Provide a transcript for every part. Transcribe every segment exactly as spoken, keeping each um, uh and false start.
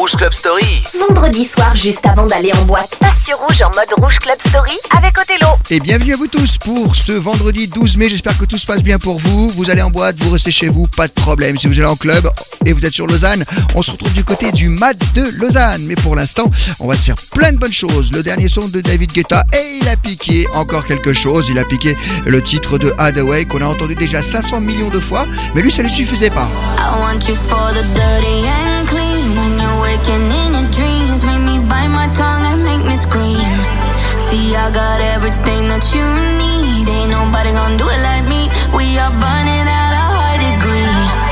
Rouge Club Story. Vendredi soir, juste avant d'aller en boîte, passe sur Rouge en mode Rouge Club Story avec Othello. Et bienvenue à vous tous pour ce vendredi douze mai. J'espère que tout se passe bien pour vous. Vous allez en boîte, vous restez chez vous, pas de problème. Si vous allez en club et vous êtes sur Lausanne, on se retrouve du côté du M A D de Lausanne. Mais pour l'instant, on va se faire plein de bonnes choses. Le dernier son de David Guetta et il a piqué encore quelque chose. Il a piqué le titre de Hathaway qu'on a entendu déjà cinq cents millions de fois. Mais lui, ça ne lui suffisait pas. I want you for the dirty and clean. When you're waking in your dreams, make me bite my tongue and make me scream. See, I got everything that you need. Ain't nobody gonna do it like me. We are burning at a high degree.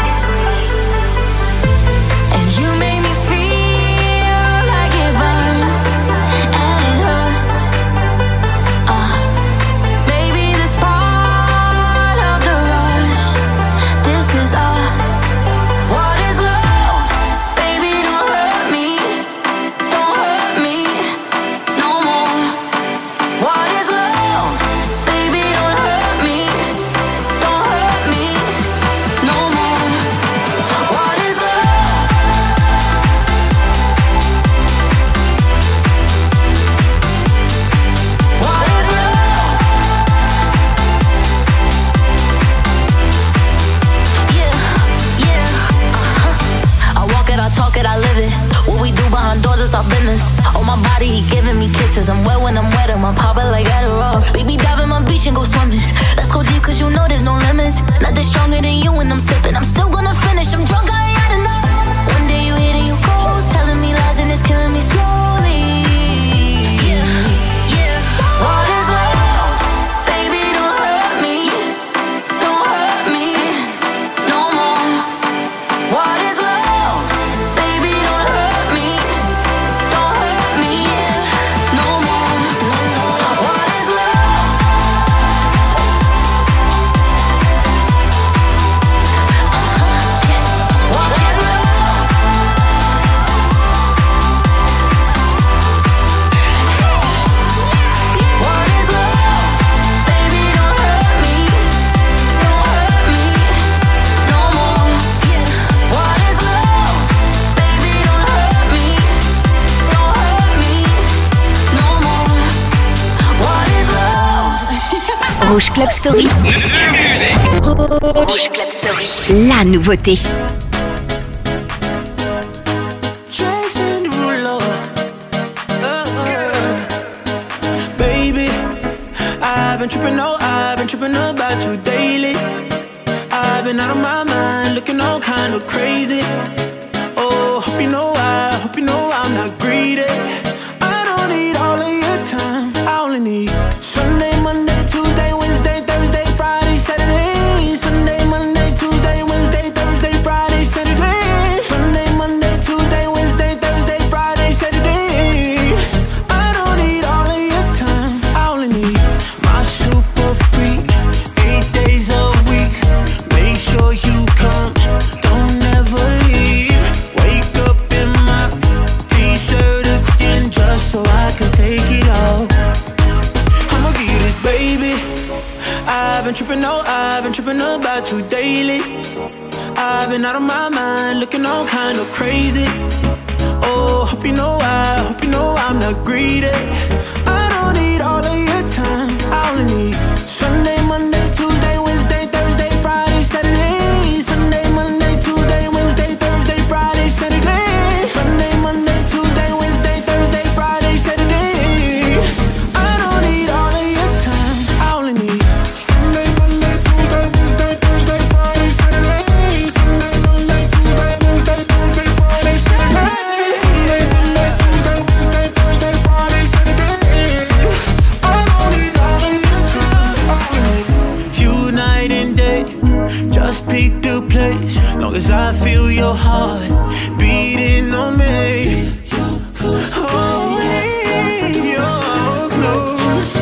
And you make me feel like it burns and it hurts. Uh, baby, this part of the rush. This is us. What is love? Baby, don't hurt me. Don't hurt me no more. What is love? Baby, don't hurt me. Don't hurt me no more. What is love? What is love? Yeah, yeah, uh-huh. I walk it, I talk it, I live it. What we do behind doors is our business. On my body, he giving me kisses. I'm wet when I'm wet, I'm popping like Adderall. Baby, dive in my beach and go swimming. Let's go deep, cause you know there's no limits. Nothing stronger than you when I'm sipping. I'm still gonna finish, I'm drunk, I ain't had enough. One day you hit and you ghost, telling me lies and it's killing me slowly. Yeah, yeah. What is love? Baby, don't hurt me. Don't hurt me no more. What is love? Baby, don't hurt me. Don't hurt me no more. What is love? What is love? What is love? Baby, don't hurt me. Don't hurt me no more. What is love? Baby, don't hurt me. Don't hurt me no more. What is love? Rouge Club Story. Rouge Club Story. La nouveauté. Jason Derulo. Baby, I've been tripping, oh, I've been tripping about you daily. I've been out of my mind, looking all kind of crazy. Oh, hope you know I, hope you know I'm not greedy. I don't need all of your time, I only need Sunday, Monday, Tuesday, Wednesday, Thursday, Friday, Saturday. Sunday, Monday, Tuesday, Wednesday, Thursday, Friday, Saturday. Sunday, Monday, Tuesday, Wednesday, Thursday, Friday, Saturday. I don't need all of your time, I only need my super freak, eight days a week. Make sure you come, don't ever leave. Wake up in my t-shirt again just so I can take it off. I'ma give you this, baby. I've been tripping, oh, I've been tripping about you daily. I've been out of my mind, looking all kind of crazy. Oh, hope you know I, hope you know I'm not greedy. I don't need all of your time, I only need Sunday, Monday, Tuesday, Wednesday, Thursday, Friday, Saturday. Sunday, Monday, Tuesday, Wednesday, Thursday, Friday, Saturday. Sunday, Monday, Tuesday, Wednesday, Thursday, Friday, Saturday. I don't need all of your time, I only need Sunday, Monday, Tuesday, Wednesday, Thursday, Friday, Saturday. Sunday, Monday, Tuesday, Wednesday, Thursday, Friday, Saturday. Sunday, Monday, Tuesday, Wednesday, Thursday, Friday, Saturday. I don't need all of your time, I only need you night and day. Just pick the place, long as I feel your heart beating on me. Oh, you're close.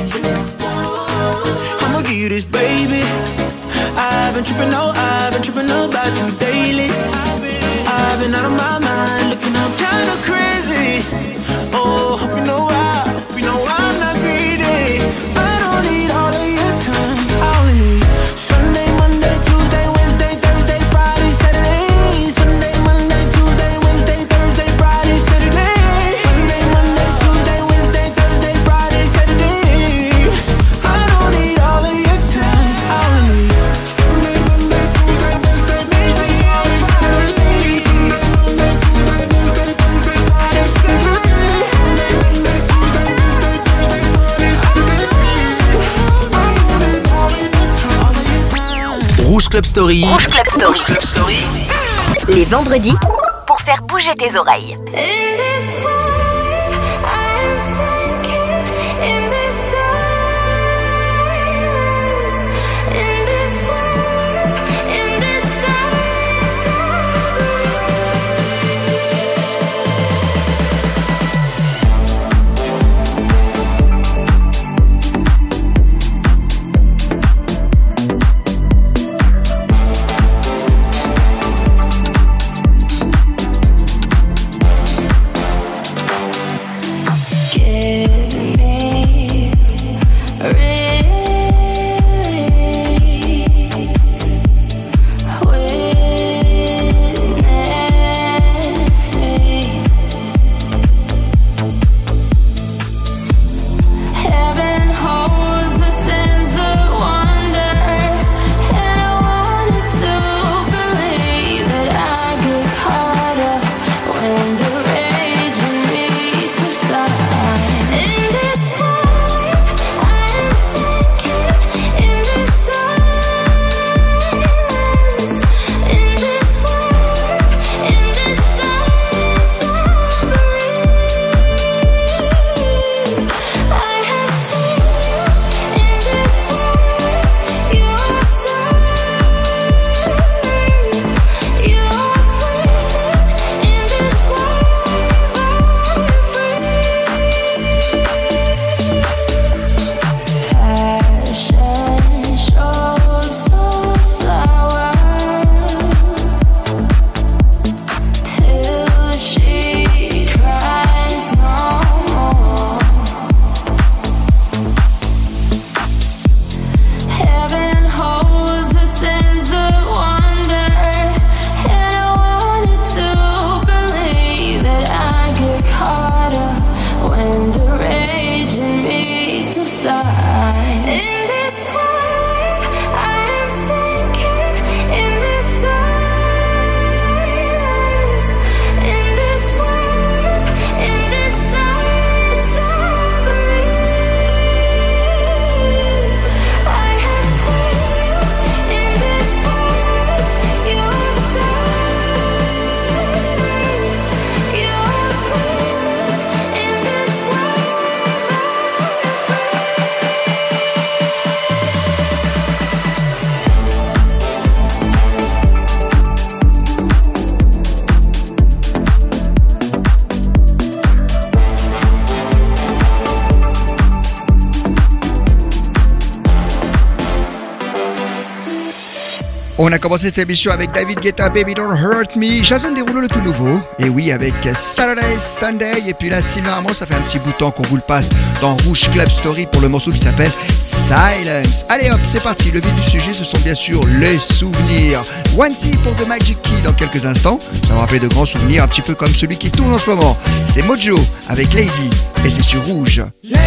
I'ma give you this, baby. I've been tripping, oh, I've been tripping about you daily. I've been out of my mind, looking up kind of crazy. Oh, hope you know I, hope you know I'm not greedy. I don't need all of your time, I only need Sunday, Monday, Tuesday, Wednesday, Thursday, Friday, Saturday. Sunday, Monday, Tuesday, Wednesday, Thursday, Friday. Rouge Club Story. Rouge Club Story. Rouge Club Story. Les vendredis, pour faire bouger tes oreilles. On a commencé cette émission avec David Guetta, Baby Don't Hurt Me. Jason Derulo, le tout nouveau. Et oui, avec Saturday, Sunday. Et puis là, Sylvain Armand, ça fait un petit bout de temps qu'on vous le passe dans Rouge Club Story pour le morceau qui s'appelle Silence. Allez hop, c'est parti. Le vif du sujet, ce sont bien sûr les souvenirs. One T pour The Magic Key dans quelques instants. Ça va me rappeler de grands souvenirs, un petit peu comme celui qui tourne en ce moment. C'est Mojo avec Lady. Et c'est sur Rouge. Lady,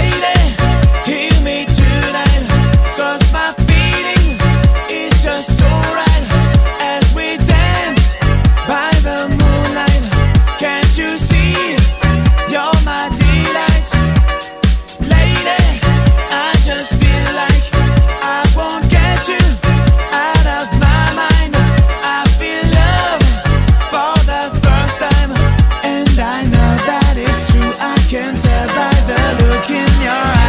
hear me tonight, 'cause my feeling is just so right. As we dance by the moonlight, can't you see, you're my delight. Lady, I just feel like I won't get you out of my mind. I feel love for the first time, and I know that it's true. I can tell by the look in your eyes.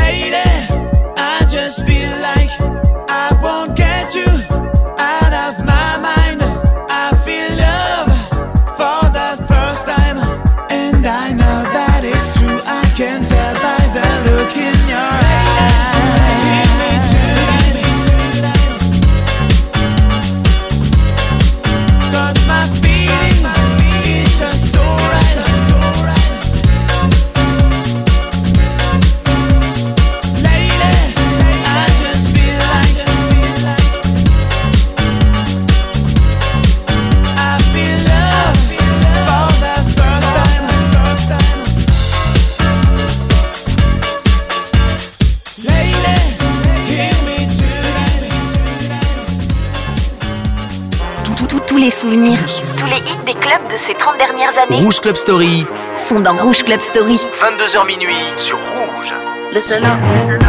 les souvenirs, tous les hits des clubs de ces trente dernières années. Rouge Club Story sont dans Rouge Club Story. vingt-deux heures minuit sur Rouge. Listen up.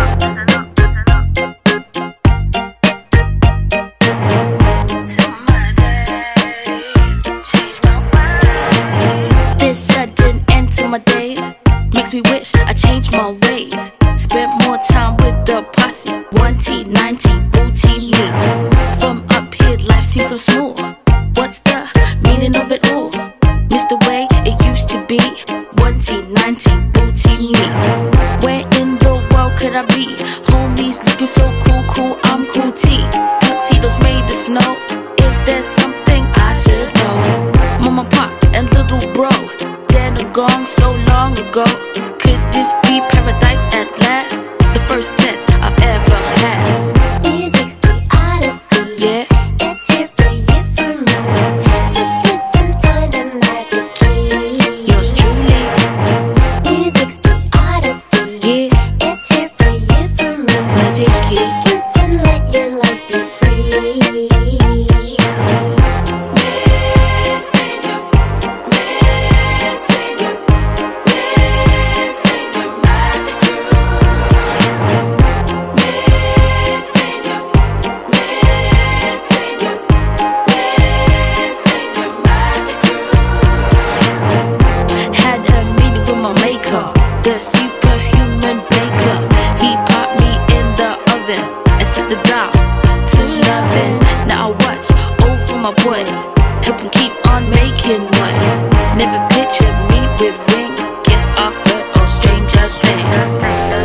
This sudden end to my days makes me wish I changed my ways. Spent more time with the posse. One T, ninety, booty me. From up here, life seems so smooth. What's the meaning of it all? Miss the way it used to be. One T, ninety, booty me. Where in the world could I be? Homies looking so cool, cool, I'm cool T. Tuxedos made of snow. Is there something I should know? Mama, pop, and little bro, dead and gone so long ago. Could this be paradise at last? The first test I've ever passed. Music's the odyssey. Yeah. It's here for you, for me. Just listen, find the magic key. Yours truly. Music's the odyssey. Yeah. It's here for you, for me. Magic key. Just listen, let your life be free. The superhuman baker, he popped me in the oven and set the dial to loving. Now I watch over my boys, help them keep on making noise. Never pictured me with wings, guess I've heard all stranger things.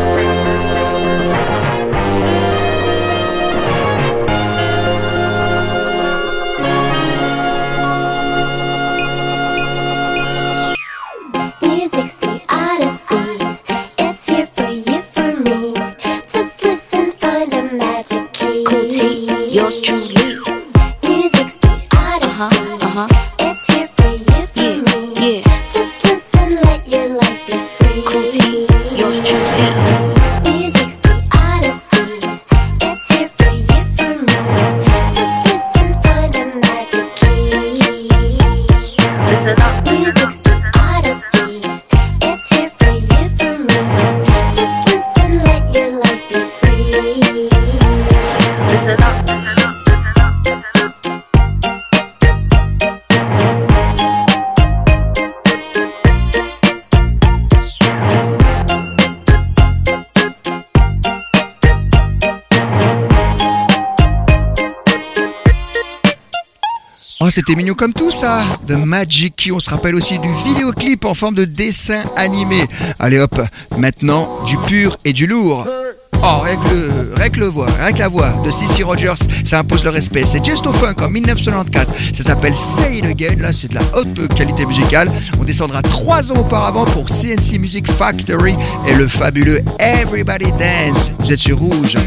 Music's the odyssey. It's here for you, for me. Just listen, find the magic key. Cool T, yours truly. Music's the odyssey. Uh-huh, uh-huh. It's here for you, for Yeah, me. yeah. Just listen, let your life be free. Cool T, yours truly. Music's the odyssey. It's here for you, for me. Just listen, find the magic key. Listen up. Music's the odyssey. It's here for you, for me. Just listen, let your life be free. Listen up. Oh, c'était mignon comme tout ça. The Magic Key, on se rappelle aussi du vidéoclip en forme de dessin animé. Allez hop, maintenant du pur et du lourd. Oh, rien que, le, rien que le voix, rien que la voix de Cissy Rogers, ça impose le respect. C'est Just au Funk en dix-neuf cent quatre-vingt-quatorze. Ça s'appelle Say It Again. Là, c'est de la haute qualité musicale. On descendra trois ans auparavant pour C N C Music Factory et le fabuleux Everybody Dance. Vous êtes sur Rouge.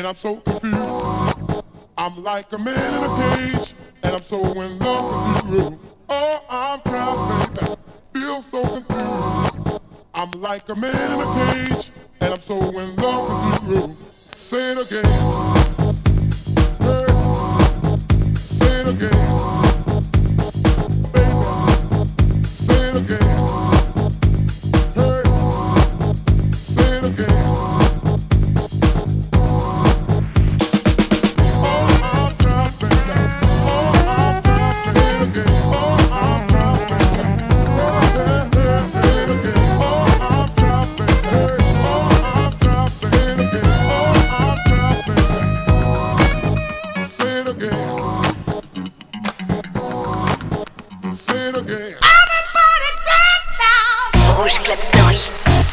and I'm so confused. I'm like a man in a cage, and I'm so in love with you. Oh, I'm trapped, baby, feel so confused. I'm like a man in a cage, and I'm so in love with you. Say it again. Hey. Say it again. Baby. Say it again. Hey. Say it again. Rouge Club Story.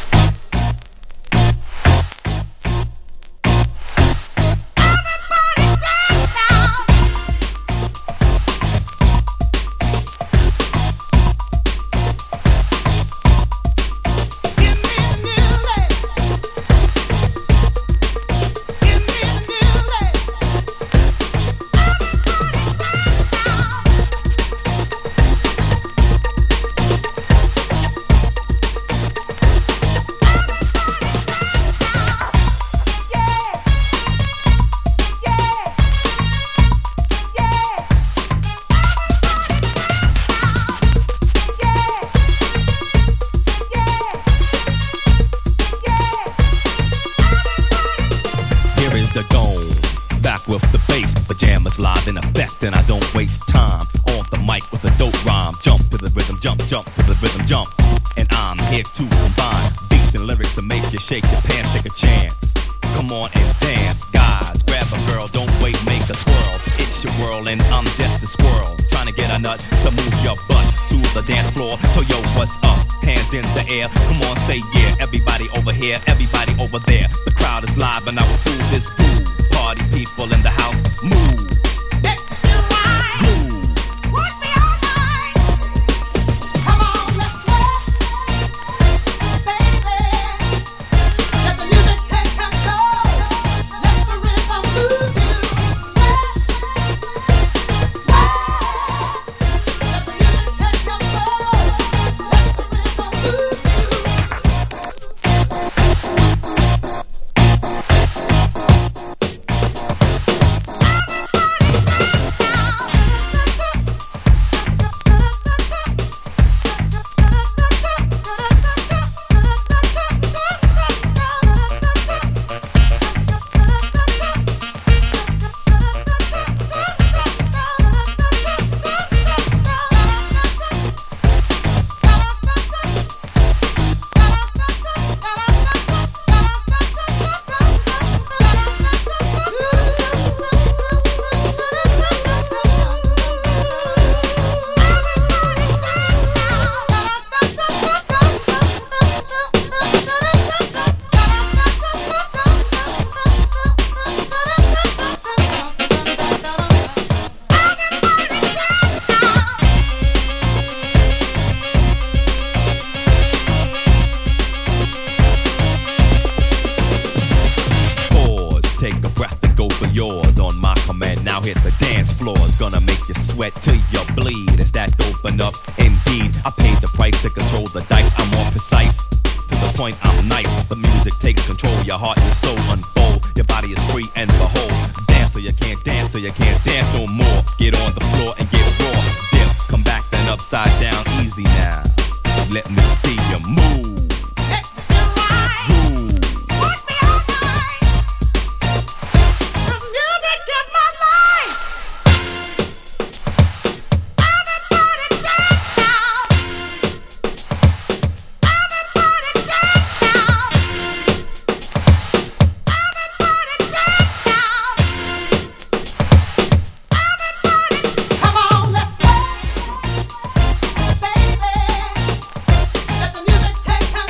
Live in effect and I don't waste time on the mic with a dope rhyme. Jump to the rhythm, jump, jump to the rhythm, jump. And I'm here to combine beats and lyrics to make you shake your pants, take a chance. Come on and dance, guys, grab a girl, don't wait, make a twirl. It's your world and I'm just a squirrel, trying to get a nut to move your butt to the dance floor. So yo, what's up? Hands in the air, come on, say yeah. Everybody over here, everybody over there. The crowd is live and I will fool this fool. Party people in the house, move. Take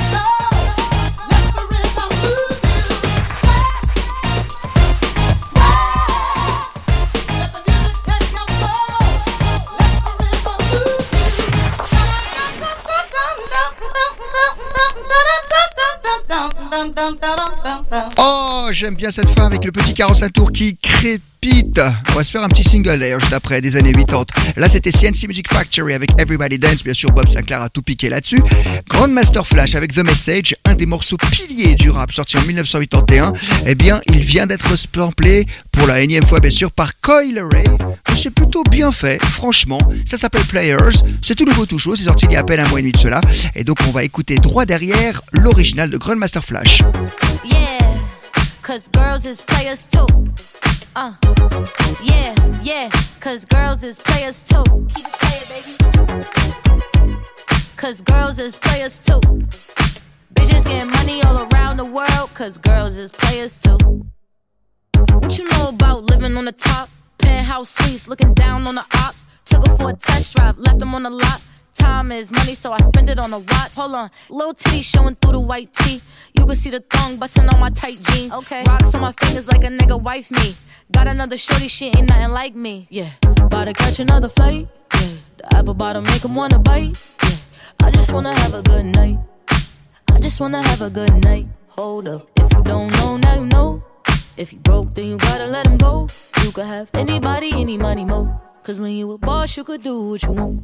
Oh, j'aime bien cette fin avec le petit quarante-cinq tours qui crépite. On va se faire un petit single d'ailleurs juste après, des années quatre-vingt. Là c'était C N C Music Factory avec Everybody Dance, bien sûr Bob Sinclair a tout piqué là-dessus. Grandmaster Flash avec The Message, un des morceaux piliers du rap sorti en dix-neuf cent quatre-vingt-onze. Eh bien, il vient d'être samplé pour la énième fois bien sûr par Coil Ray. C'est plutôt bien fait, franchement. Ça s'appelle Players, c'est tout nouveau tout chaud, c'est sorti il y a à peine un mois et demi de cela. Et donc on va écouter droit derrière l'original de Grandmaster Flash. Yeah, cause girls is players too. Uh, yeah, yeah, cause girls is players too. Keep it playing, baby. Cause girls is players too. Bitches getting money all around the world, cause girls is players too. What you know about living on the top? Penthouse suites, looking down on the ops. Took her for a test drive, left them on the lot. Time is money, so I spend it on a watch. Hold on, little titty showing through the white tee. You can see the thong busting on my tight jeans. Okay, rocks on my fingers like a nigga wife me. Got another shorty, she ain't nothing like me. Yeah, about to catch another flight. Yeah, the apple bottom make him wanna bite. Yeah, I just wanna have a good night. I just wanna have a good night. Hold up, if you don't know, now you know. If you broke, then you gotta let him go. You could have anybody, any money, mo. Cause when you a boss, you could do what you want.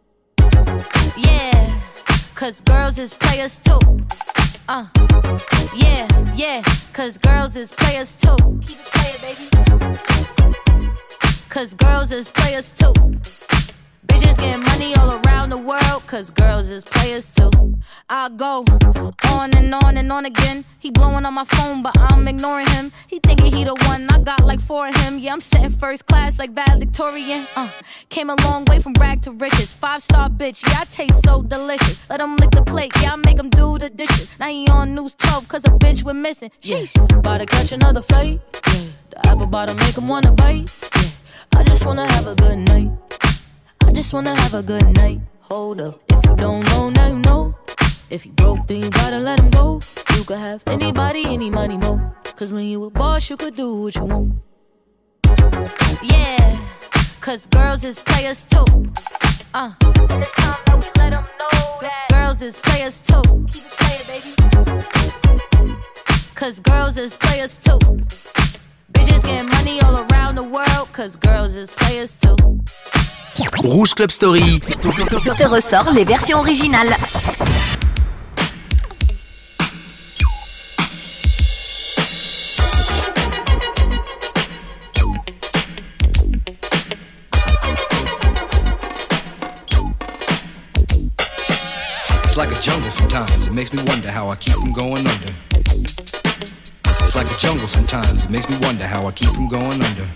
Yeah, cause girls is players too. Uh, yeah, yeah, cause girls is players too. Keep it playing, baby. Cause girls is players too. Bitches getting money all around the world, cause girls is players too. I go on and on and on again. He blowing on my phone, but I'm ignoring him. He thinking he the one, I got like four of him. Yeah, I'm sitting first class like valedictorian. Uh, came a long way from rag to riches. Five star bitch, yeah, I taste so delicious. Let him lick the plate, yeah, I make him do the dishes. Now he on news twelve, cause a bitch we're missing. Sheesh, about to catch another flight. Yeah, the apple bottom make him wanna bite. Yeah, I just wanna have a good night. I just wanna have a good night. Hold up, if you don't know, now you know. If you broke, then you gotta let him go. You could have anybody, any money, mo. Cause when you a boss, you could do what you want. Yeah, cause girls is players too. Uh, and it's time that we let them know that girls is players too. Keep it playing, baby. Cause girls is players too. Bitches getting money all around the world, cause girls is players too. Rouge Club Story te ressort les versions originales. It's like a jungle sometimes, it makes me wonder how I keep from going under. It's like a jungle sometimes, it makes me wonder how I keep from going under.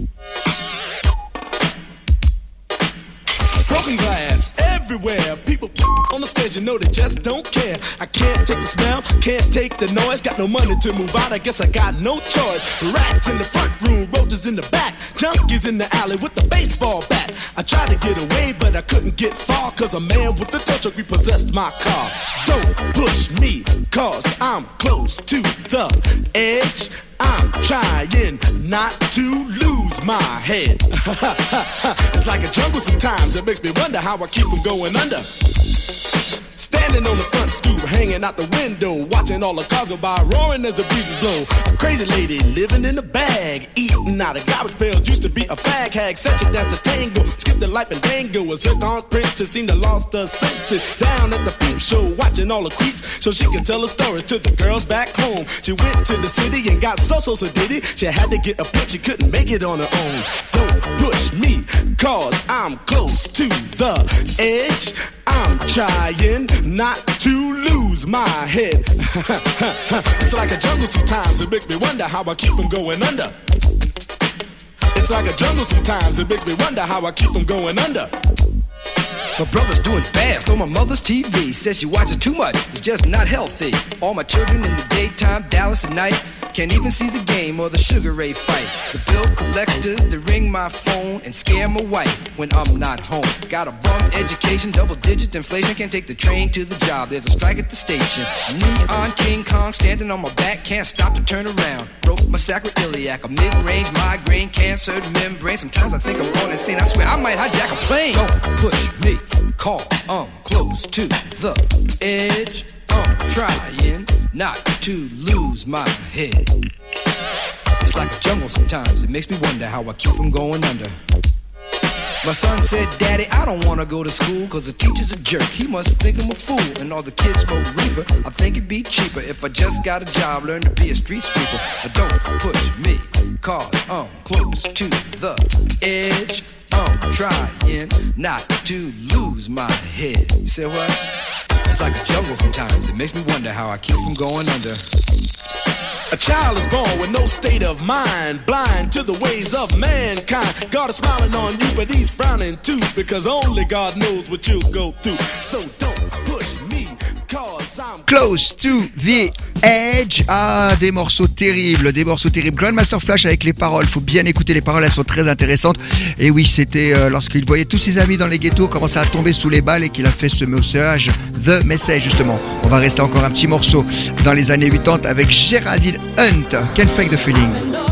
Broken glass everywhere. People on the stage, you know they just don't care. I can't take the smell, can't take the noise. Got no money to move out, I guess I got no choice. Rats in the front room, roaches in the back, junkies in the alley with the baseball bat. I tried to get away, but I couldn't get far, cause a man with a tow truck repossessed my car. Don't push me, cause I'm close to the edge. I'm trying not to lose my head. It's like a jungle sometimes, it makes me wonder how I keep from going under. Standing on the front stoop, hanging out the window, watching all the cars go by, roaring as the breezes blow. A crazy lady living in a bag, eating out of garbage pails, used to be a fag hag, such a dance to tango, skipped the life and dango, a zircon princess seemed to lost her senses. Down at the peep show, watching all the creeps, so she can tell her stories to the girls back home. She went to the city and got so so so did it. She had to get a pimp, she couldn't make it on her own. Don't push me, cause I'm close to the edge. I'm trying not to lose my head. It's like a jungle sometimes, it makes me wonder how I keep from going under. It's like a jungle sometimes, it makes me wonder how I keep from going under. My brother's doing bad, stole my mother's T V. Says she watches too much, it's just not healthy. All my children in the daytime, Dallas at night. Can't even see the game or the Sugar Ray fight. The bill collectors, they ring my phone and scare my wife when I'm not home. Got a bum education, double digit inflation. Can't take the train to the job, there's a strike at the station. Neon King Kong standing on my back, can't stop to turn around. Broke my sacroiliac, a mid-range migraine, cancer membrane. Sometimes I think I'm going insane, I swear I might hijack a plane. Don't push me, cause I'm close to the edge. I'm trying not to lose my head. It's like a jungle sometimes, it makes me wonder how I keep from going under. My son said, Daddy, I don't wanna go to school, cause the teacher's a jerk, he must think I'm a fool. And all the kids smoke reefer, I think it'd be cheaper if I just got a job, learn to be a street sweeper. But don't push me, cause I'm close to the edge. I'm trying not to lose my head. You say what? It's like a jungle sometimes, it makes me wonder how I keep from going under. A child is born with no state of mind, blind to the ways of mankind. God is smiling on you, but he's frowning too, because only God knows what you'll go through. So don't push me, cause I'm Close to the Edge. Ah, des morceaux terribles, des morceaux terribles. Grandmaster Flash avec les paroles, faut bien écouter les paroles, elles sont très intéressantes. Et oui, c'était euh, lorsqu'il voyait tous ses amis dans les ghettos commencer à tomber sous les balles et qu'il a fait ce message, The Message justement. On va rester encore un petit morceau dans les années quatre-vingt-dix avec Geraldine Hunt, Can't Fake the Feeling.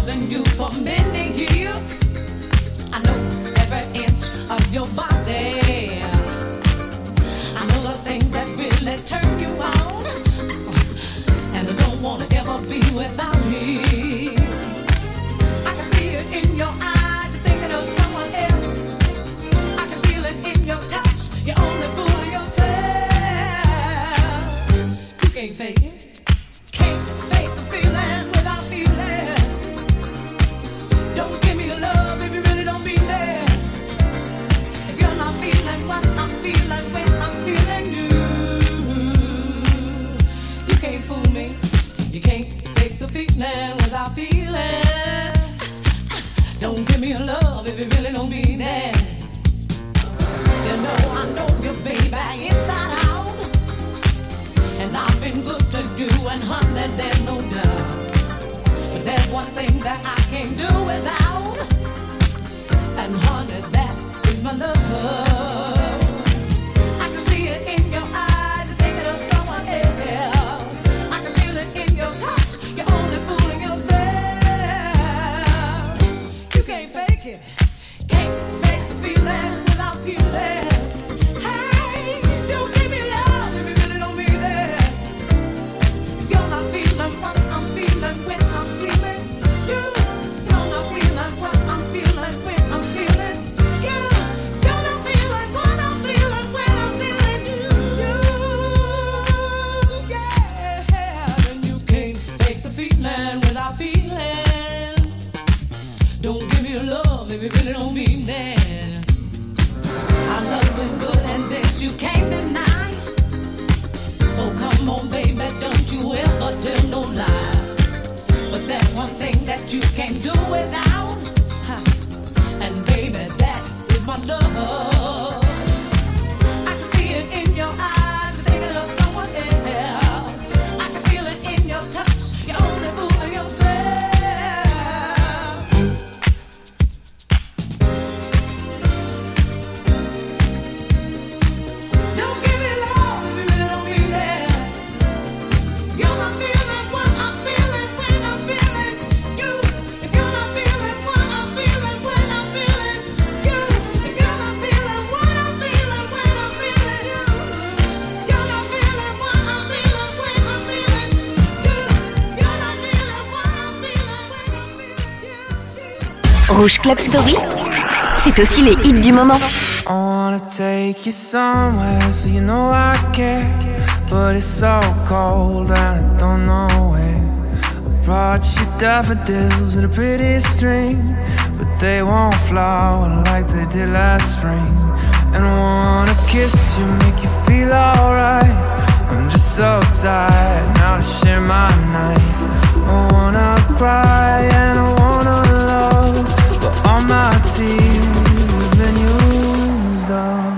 Rouge Club Story, c'est aussi les hits du moment. I wanna take you somewhere so you know I care, but it's so cold and I don't know where. I brought you daffodils and a pretty string, but they won't flower like they did last spring. And I wanna kiss you, make you feel alright. I'm just so tired now to share my nights. I wanna cry and I wanna love, but all my tears have been used up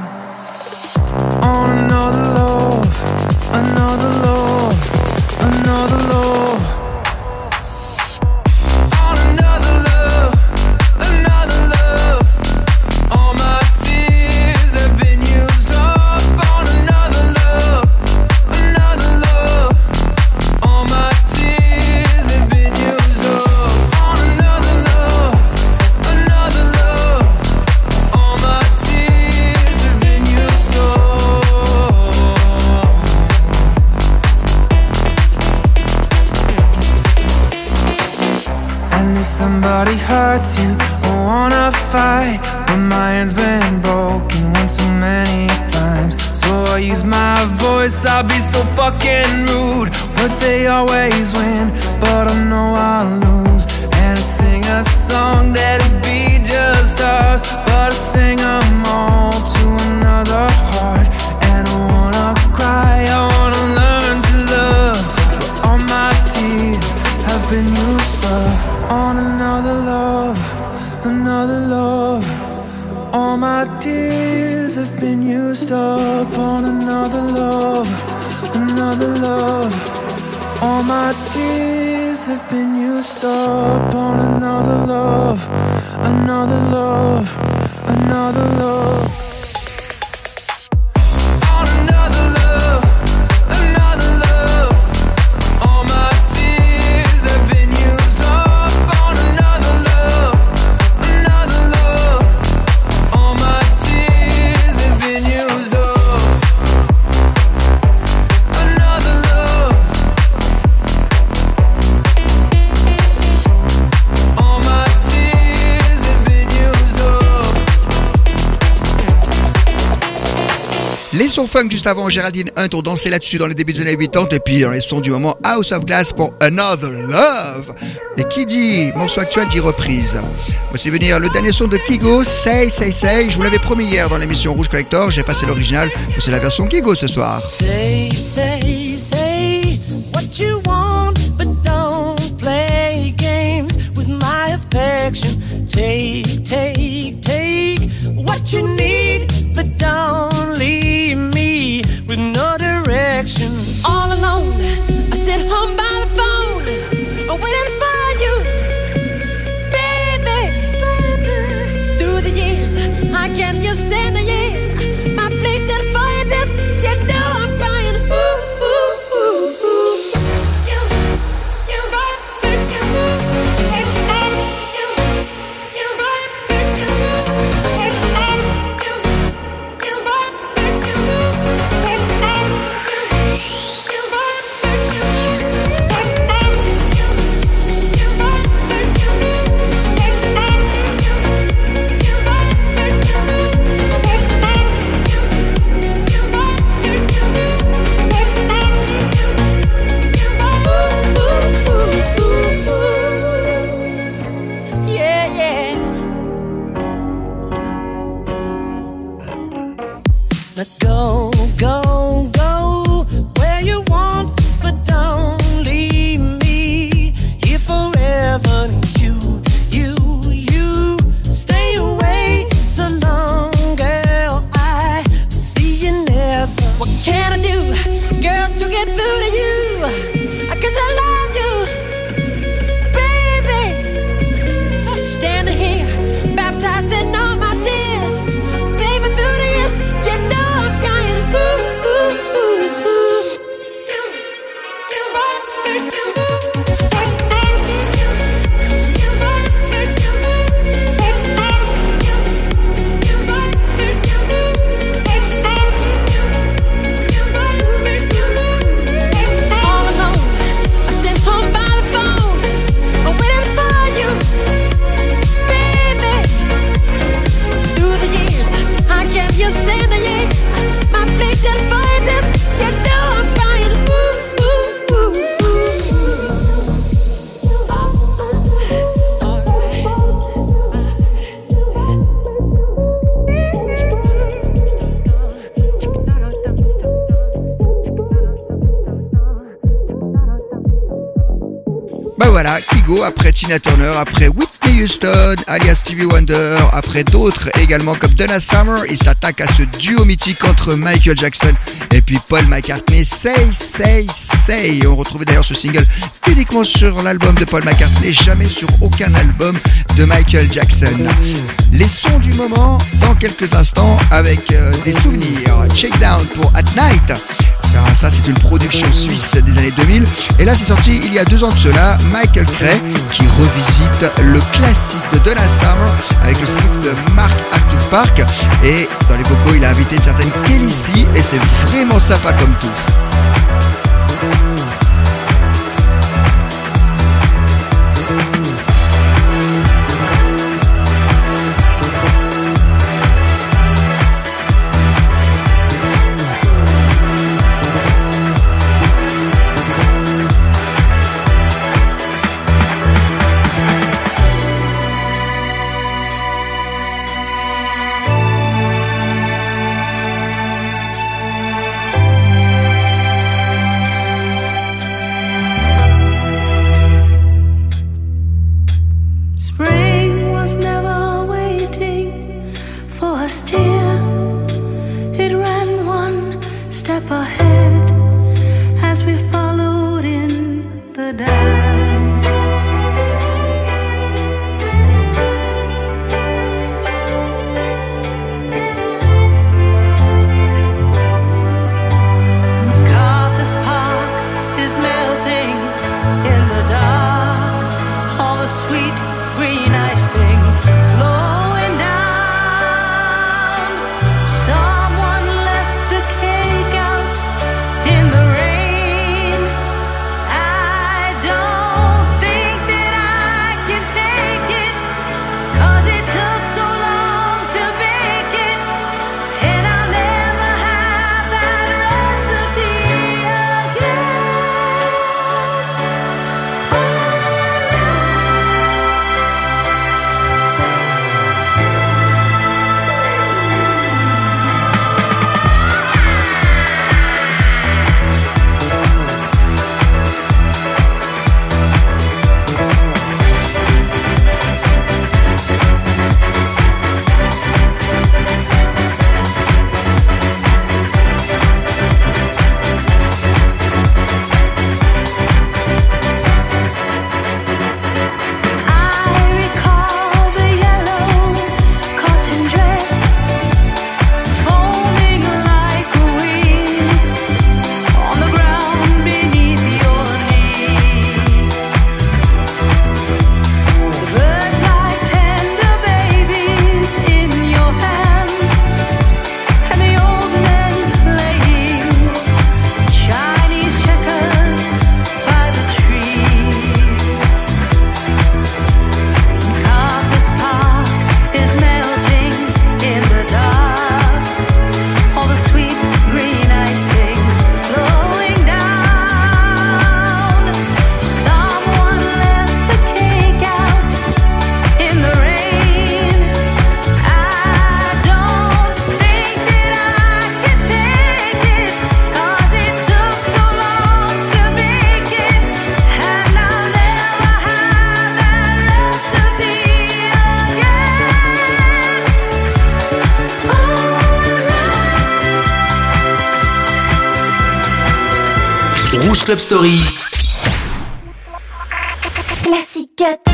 on another love, another love, another love, on another love, another love. All my tears have been used up on another love, another love. All my tears have been used up on another love, another love. somebody hurts you, I wanna fight, but my hand's been broken one too many times. So I use my voice, I'll be so fucking rude. Words they always win, but I know I'll lose. And I sing a song that'll be just ours, but I sing them all to another heart. And I wanna cry, I wanna learn to love, but all my tears have been used up on another love, another love. All my tears have been used up on another love, another love. All my tears have been used up on another love, another love, another love. Les sons funk juste avant, Géraldine Hunt ont dansé là-dessus dans les débuts des années quatre-vingt-dix et puis dans les sons du moment, House of Glass pour Another Love. Et qui dit morceau actuel dit reprise. Voici venir le dernier son de Kygo, Say Say Say. Je vous l'avais promis hier dans l'émission Rouge Collector, j'ai passé l'original, c'est la version Kygo ce soir. Say, say, say what you want, but don't play games with my affection. Take, take, take what you need, but don't leave me with no direction. All alone, I sit home by the phone, waiting for you, baby. Through the years, I can't just stand the year. My place is for you, death. You know I'm crying. Ooh, ooh, ooh, ooh. You, you, you, you, Go, go, go where you want, but don't leave me here forever. You, you, you stay away so long, girl. I see you never. What can I do, girl, to get through to you? Cause I love you, baby. Standing here, baptized in all my tears, baby, through the years, you know I'm crying. Ooh, ooh, ooh, ooh. All alone, I sit home by the phone, waiting for you, baby. Through the years, I can't just stand the year. My place is for you, death. You know I'm crying. Ooh, ooh, ooh, ooh. Bah voilà, Kygo après Tina Turner, après Whitney Houston, alias Stevie Wonder, après d'autres également comme Donna Summer, il s'attaque à ce duo mythique entre Michael Jackson et puis Paul McCartney. Say, say, say. On retrouvait d'ailleurs ce single uniquement sur l'album de Paul McCartney, jamais sur aucun album de Michael Jackson. Les sons du moment dans quelques instants avec euh, des souvenirs. Check Down pour At Night. Ça, ça c'est une production suisse des années deux mille. Et là c'est sorti il y a deux ans de cela, Michael Cray qui revisite le classique de Donna Summer avec le script de Mark Arthur Park. Et dans les vocaux il a invité une certaine Kelly C et c'est vraiment sympa comme tout. Rouge Club Story. Classic Cut.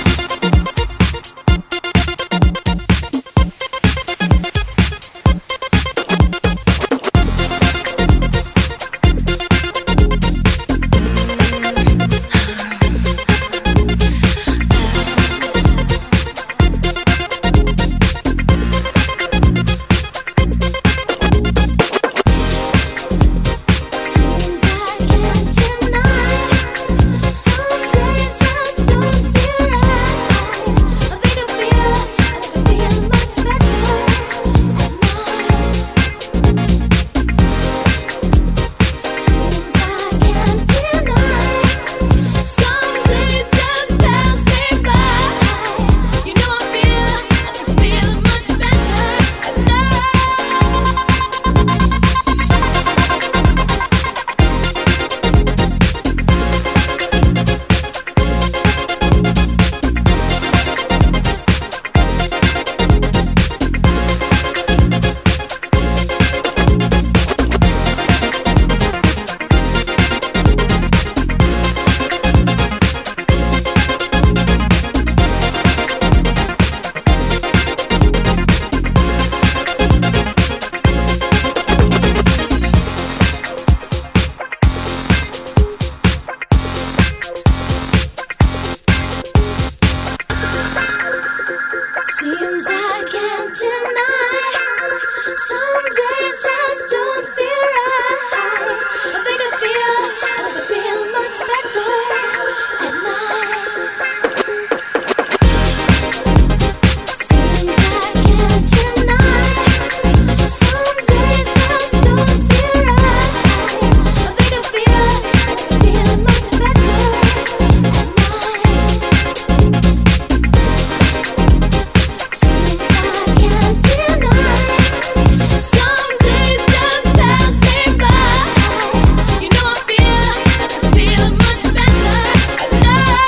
Seems I can't deny. Some days just don't feel right. I think I feel, I think I feel much better at night. Seems I can't deny. Some days just don't feel right. I think I feel, I think I feel much better at night. Seems I can't deny. Some days just pass me by. You know I feel, I feel much better at night.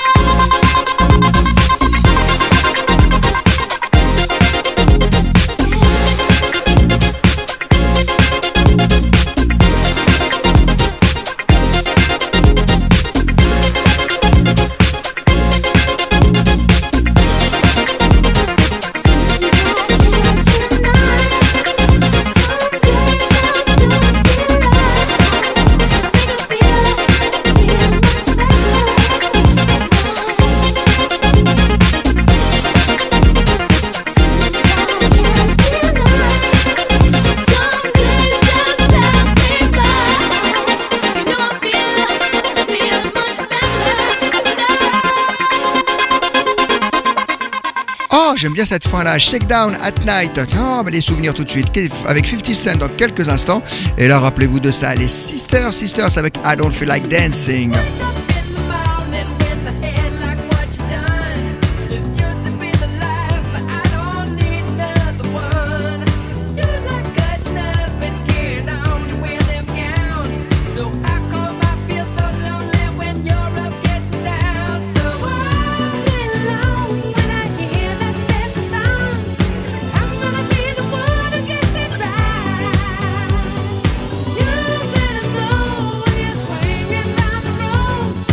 Oh, j'aime bien cette fin-là. Shakedown at Night. Oh, mais les souvenirs tout de suite. Avec fifty Cent dans quelques instants. Et là, rappelez-vous de ça. Les Sisters, Sisters avec I Don't Feel Like Dancing. You better know when you're swinging down the road.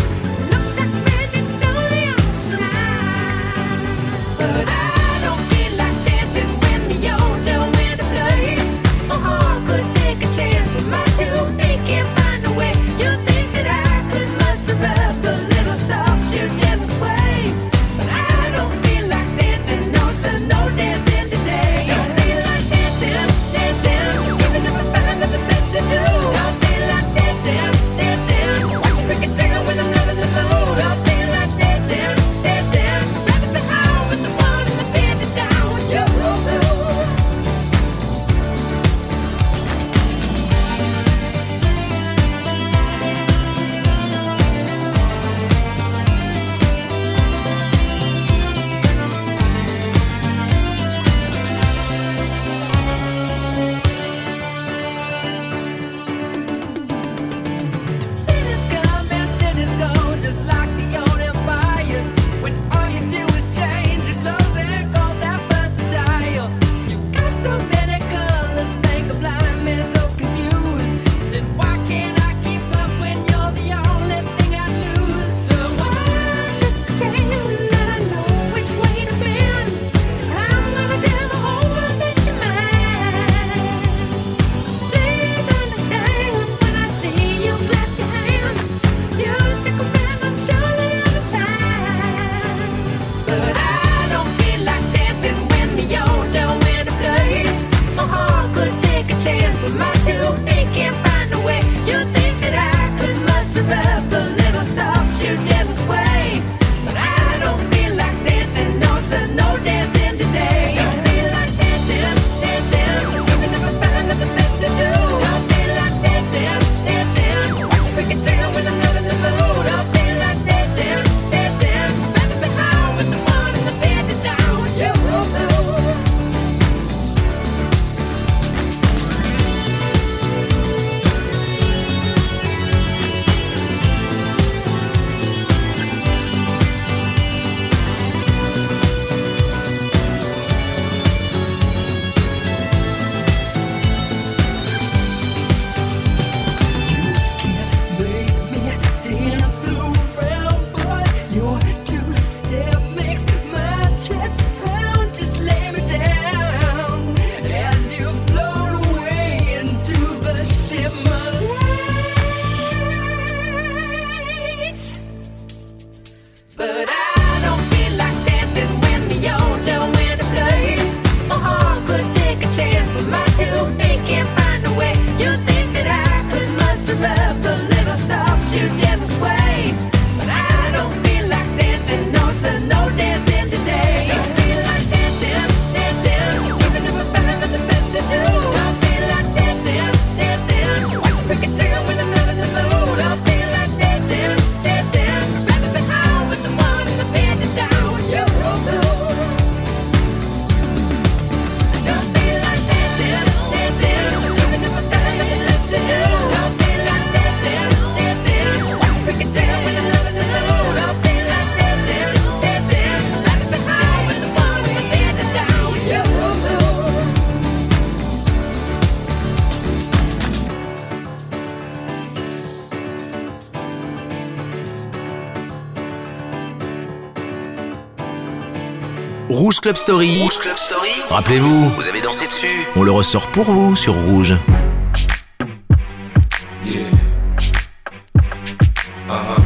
Rouge Club Story. Rouge Club Story. Rappelez-vous, vous avez dansé dessus. On le ressort pour vous sur Rouge. Yeah. Uh-huh.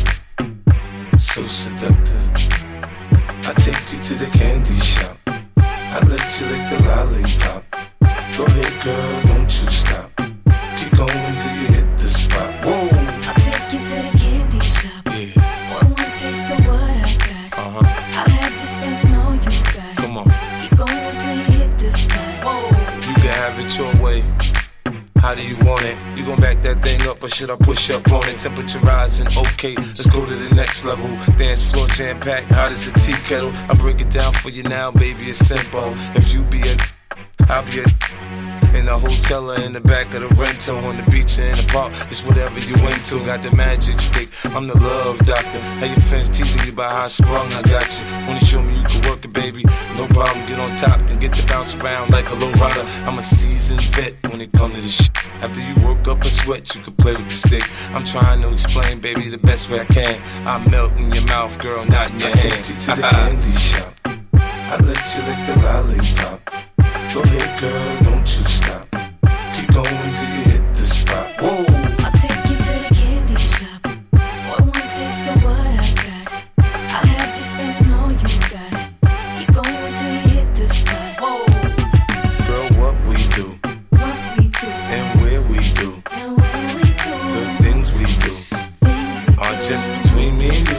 So seductive. I take you to the candy shop. I let you lick the lollipop. Go ahead, girl, don't you stop. Keep going till you hit the spot. Whoa. I'll take you to the candy shop. Yeah. One more taste of what I got. Uh-huh. I'll have you spending all you got. Come on. Keep going till you hit the spot. Whoa. You can have it your way. How do you want it? You gon' back that thing up or should I push up on it? Temperature rising, okay, let's go to the next level. Dance floor jam packed, hot as a tea kettle. I break it down for you now, baby, it's simple. If you be a, I'll be a. In the hotel or in the back of the rental, on the beach or in the park, it's whatever you into. Got the magic stick, I'm the love doctor. How your fans teasing you about how I sprung, I got you. Wanna show me you can work it, baby? No problem, get on top, then get to bounce around like a low rider. I'm a seasoned vet when it comes to this shit. After you work up a sweat, you can play with the stick. I'm trying to explain, baby, the best way I can. I melt in your mouth, girl, not in your I hand. Take you to the candy shop. I let you lick the lollipop. Go ahead, girl, don't you stop. Keep going till you hit the spot. Whoa. I'll take you to the candy shop. One more taste of what I got. I'll have you spending all you got. Keep going till you hit the spot. Whoa. Girl, what we do, What we do, and where we do, and where we do, the things we do, are just between me and you.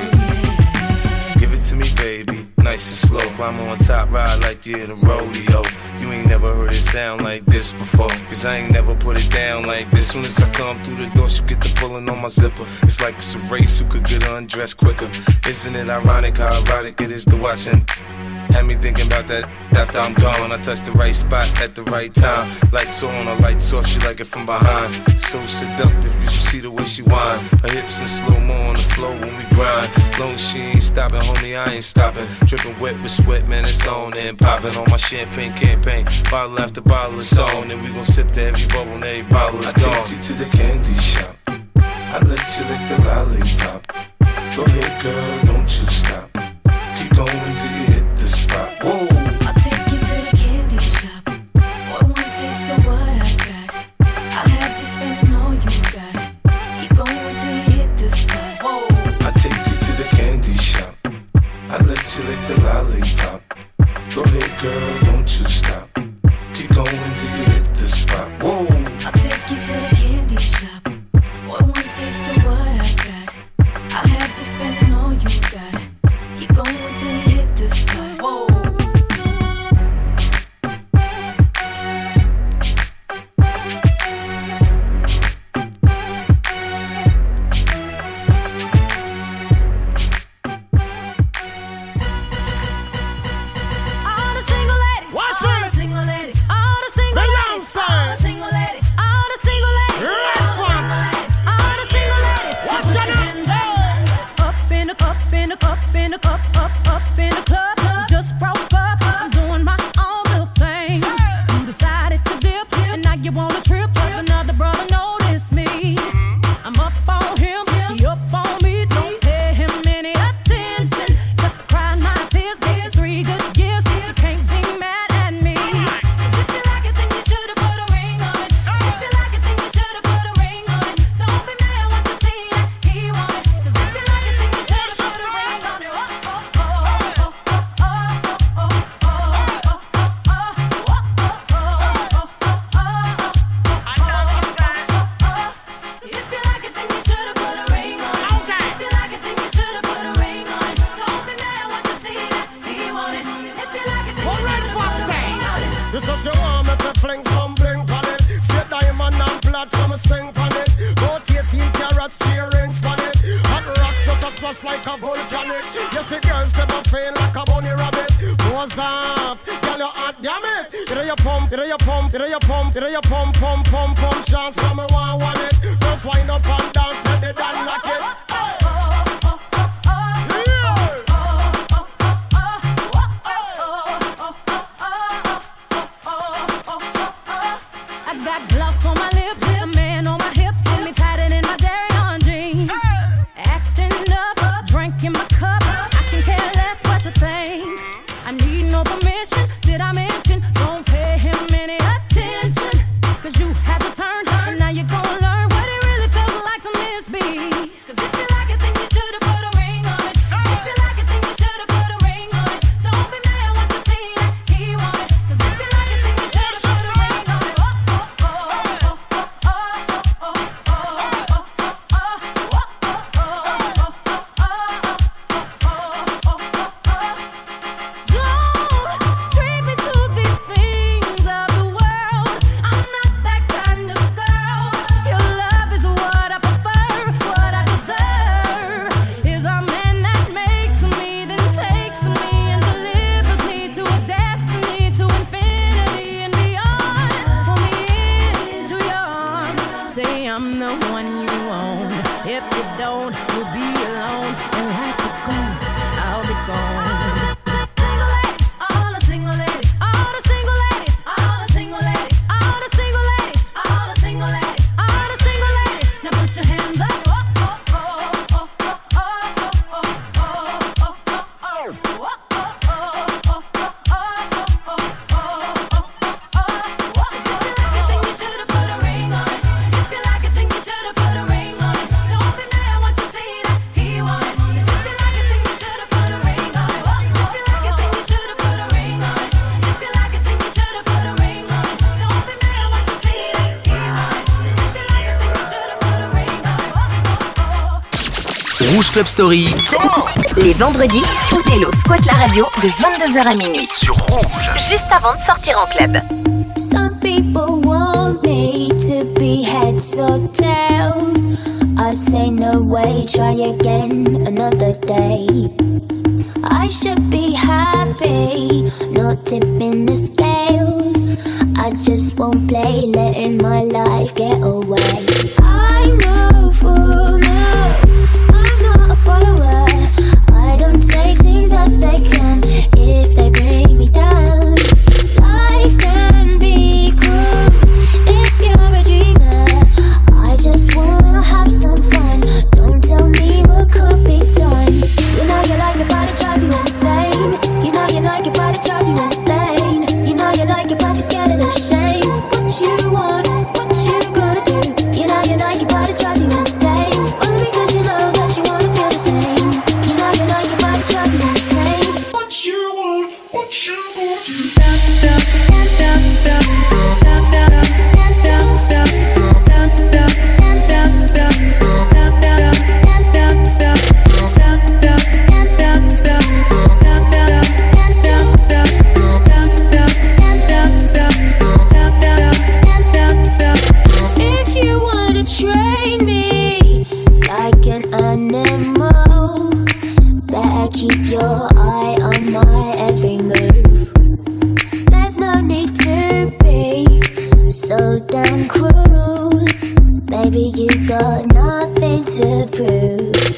Yeah. Give it to me, baby, nice and slow. Climb on top, ride like you're in a rodeo. You ain't never heard it sound like this before, cause I ain't never put it down like this. Soon as I come through the door, she get the pulling on my zipper. It's like it's a race, who could get undressed quicker. Isn't it ironic how erotic it is to watch and had me thinking about that after I'm gone. I touch the right spot at the right time. Lights on, her lights off, she like it from behind. So seductive, you should see the way she whine. Her hips in slow-mo on the floor when we grind. Long as she ain't stopping, homie, I ain't stopping. Dripping wet with sweat, man, it's on and popping on my champagne campaign. Bottle after bottle is on, and we gon' sip to every bubble and every bottle is gone. I take you to the candy shop. I let you lick the lollipop. Go ahead, girl, don't you stop. Keep going till you hit the spot. Whoa. I'll take you to the candy shop. One more taste of what I got. I'll have you spending all you got. Keep going till you hit the spot. Whoa. I take you to the candy shop. I let you lick the lollipop. Go ahead, girl, don't you stop. Keep going till you hit the spot. Whoa. I'll take you to the candy shop. One more taste of what I got. I'll have you spending all you got. Keep going till you hit the spot. Whoa. All the single ladies, Watch all it. the single ladies, all the single The ladies, young all side. the single ladies, all the single ladies, Red all the Fox. single ladies, all the single ladies. Watch Put it your now. hands up, up in the up in the up in the up up up in the club. Just broke up, I'm doing my own little thing. You decided to dip, and now you wanna trip. 'Cause another brother noticed me. I'm up on him, he up on me. Don't pay him any attention. Just crying my tears, getting three good years. You can't be mad at me. If you like it, then you should've put a ring on it. If you like it, then you should've put a ring on it. Don't be mad when you see that he want it. 'Cause if you like it, then you should've put a ring on it. Oh, oh, oh, oh, oh, oh, oh, oh, oh, oh, I know what you're saying. if you like it, then you should've put a ring on it. Okay. If you like it, then you should've put a ring on it. Don't be mad when you see that he want it. If you like it, then What you Red should've Fox put a say? ring on it. This is your arm if you fling some blink on it. Straight diamond and flat from a sting on it. About eighteen carats, three rings on it. Hot rocks just a splash like a volcanic. Yes, the girls never fail like a bunny rabbit. Goes off, girl you hot, damn it. It a your pump, it a your pump, it a your pump, it a your pump, pump, pump, pump. Chance from me want want it. Just wind up and dance, let the dance knock it. I got gloss on my lips, a man on my hips, got me tighter than my Dairy on jeans. Acting up, drink in my cup, I can care less what you think. if you don't, you'll be alone. And like a ghost, I'll be gone. All the single ladies, all the single ladies, all the single ladies, all the single ladies, all the single ladies, all the single ladies. Now put your hands up. Rouge Club Story. Les vendredis, Othello squatte la radio de vingt-deux heures à minuit. Sur Rouge. Juste avant de sortir en club. Some people want me to be heads or tails. I say no way, try again another day. I should be happy, not tipping the scales. I just won't play, letting my life get away. I'm no fool, no, I'm not a follower. I don't take things as they come if they bring me down. Life can be cruel if you're a dreamer. I just wanna have some fun. Don't tell me what could be done. You know you like it, but it drives you insane. You know you like it, but it drives you insane. You know you like it, but you're scared and ashamed. What you want, what you gonna do? You know you like it, but it drives you insane. Only because you know that you wanna feel the same. You know you like it, but it drives you insane. What you want, what you gonna do? If you wanna train me like an animal, better keep your eye on my every move. There's no need to be so damn cruel. Baby, you got nothing to prove.